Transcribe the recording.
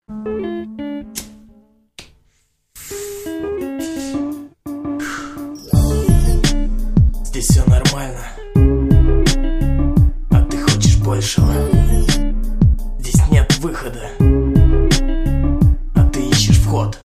Здесь все нормально, а ты хочешь большего. Здесь нет выхода, а ты ищешь вход.